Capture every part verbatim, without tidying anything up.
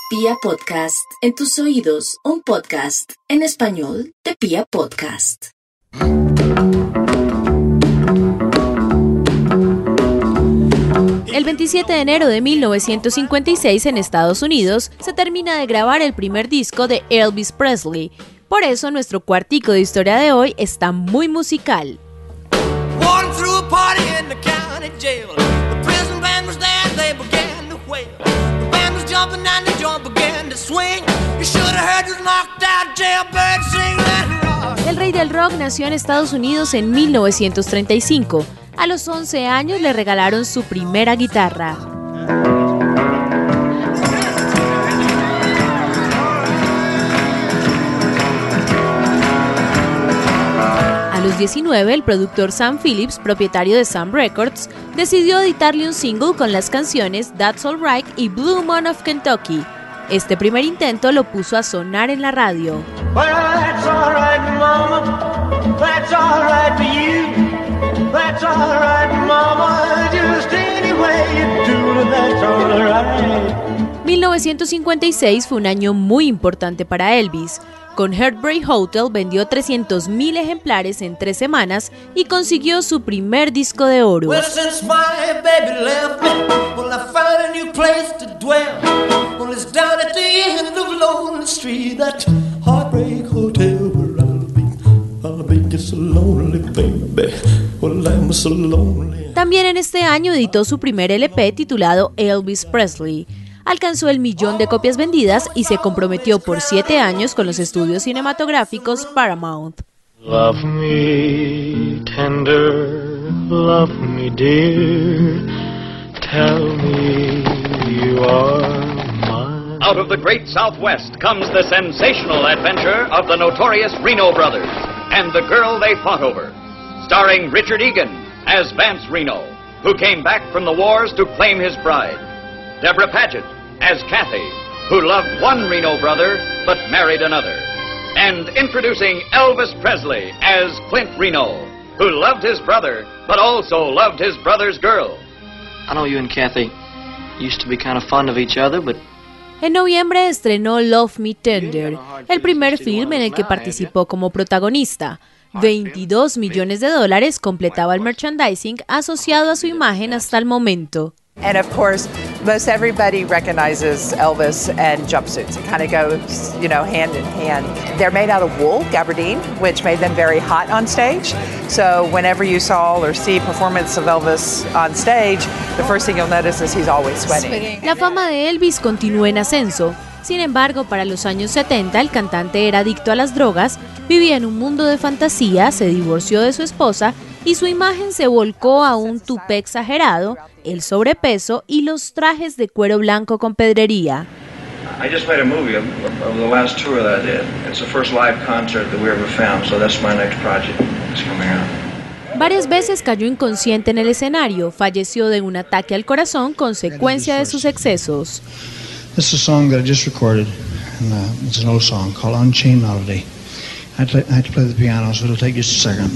Pia Podcast, en tus oídos, un podcast en español de Pia Podcast. El veintisiete de enero de mil novecientos cincuenta y seis en Estados Unidos se termina de grabar el primer disco de Elvis Presley. Por eso nuestro cuartico de historia de hoy está muy musical. El rey del rock nació en Estados Unidos en mil novecientos treinta y cinco. A los once años le regalaron su primera guitarra. A los diecinueve, el productor Sam Phillips, propietario de Sam Records, decidió editarle un single con las canciones That's Alright y Blue Moon of Kentucky. Este primer intento lo puso a sonar en la radio. Well, that's all right, mama. That's all right for you. That's all right, mama. Just any way you do it, that's all right. mil novecientos cincuenta y seis fue un año muy importante para Elvis. Con Heartbreak Hotel vendió trescientos mil ejemplares en tres semanas y consiguió su primer disco de oro. Well, since my baby left me, well, I found a new place to dwell. Well, it's down at the end of Lonely Street, that Heartbreak Hotel where I'll be. I'll be just so lonely, baby. Well, I'm so lonely. También en este año editó su primer L P titulado Elvis Presley. Alcanzó el millón de copias vendidas y se comprometió por siete años con los estudios cinematográficos Paramount. Love me tender, love me dear, tell me you are mine. Out of the great Southwest comes the sensational adventure of the notorious Reno brothers and the girl they fought over. Starring Richard Egan as Vance Reno, who came back from the wars to claim his bride. Deborah Paget as Kathy, who loved one Reno brother but married another. And introducing Elvis Presley as Clint Reno, who loved his brother but also loved his brother's girl. I know you and Kathy used to be kind of fond of each other, but... En noviembre estrenó Love Me Tender, el primer film en el que participó como protagonista. veintidós millones de dólares completaba el merchandising asociado a su imagen hasta el momento. And of course, most everybody recognizes Elvis and jumpsuits. It kind of goes, you know, hand in hand. They're made out of wool, gabardine, which made them very hot on stage. So whenever you saw or see performance of Elvis on stage, the first thing you'll notice is he's always sweating. La fama de Elvis continuó en ascenso. Sin embargo, para los años setenta, el cantante era adicto a las drogas, vivía en un mundo de fantasía, se divorció de su esposa y su imagen se volcó a un tupé exagerado, el sobrepeso y los trajes de cuero blanco con pedrería. I just made a movie of, of the last tour that I did. It's the first live concert that we ever filmed, so that's my next project that's coming out. Varias veces cayó inconsciente en el escenario, falleció de un ataque al corazón consecuencia de sus excesos. This is a song that I just recorded, and uh, it's an old song called Unchained Melody. I had, to, I had to play the piano, so it'll take just a second.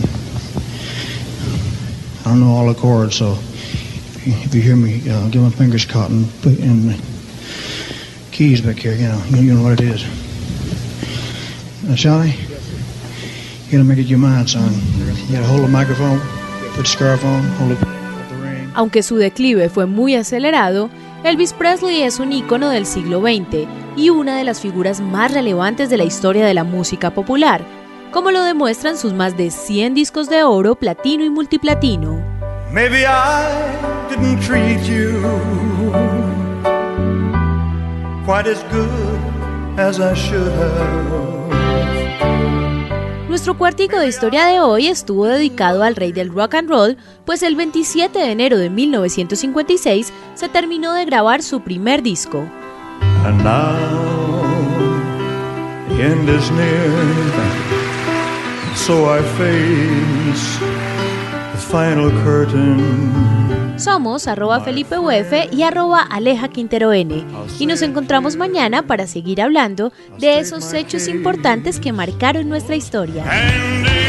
I don't know all the chords, so if you hear me, uh, get my fingers caught in, in the keys back here, you know, you know what it is. Now, Shawty, you gotta make it your mind, son. You gotta hold the microphone, put the scarf on, hold the, hold the ring. Aunque su declive fue muy acelerado, Elvis Presley es un ícono del siglo veinte y una de las figuras más relevantes de la historia de la música popular, como lo demuestran sus más de cien discos de oro, platino y multiplatino. Maybe I didn't treat you quite as good as I should have. Nuestro cuartico de historia de hoy estuvo dedicado al rey del rock and roll, pues el veintisiete de enero de mil novecientos cincuenta y seis se terminó de grabar su primer disco. And now the end is near, so I face the final curtain. Somos arroba Felipe U F y arroba Aleja Quintero N y nos encontramos mañana para seguir hablando de esos hechos importantes que marcaron nuestra historia.